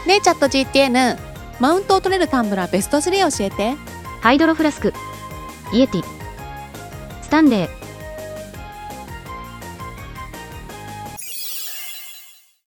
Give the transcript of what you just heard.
ねえチャット GTN、 マウントを取れるタンブラーベスト3教えて。 ハイドロフラスク、イエティ、スタンレー。